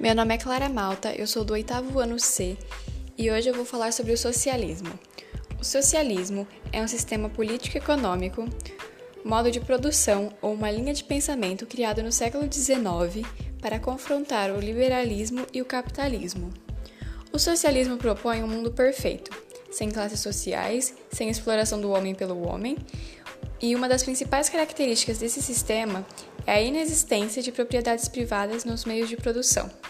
Meu nome é Clara Malta, eu sou do 8º ano C e hoje eu vou falar sobre o socialismo. O socialismo é um sistema político-econômico, modo de produção ou uma linha de pensamento criado no século XIX para confrontar o liberalismo e o capitalismo. O socialismo propõe um mundo perfeito, sem classes sociais, sem exploração do homem pelo homem, e uma das principais características desse sistema é a inexistência de propriedades privadas nos meios de produção.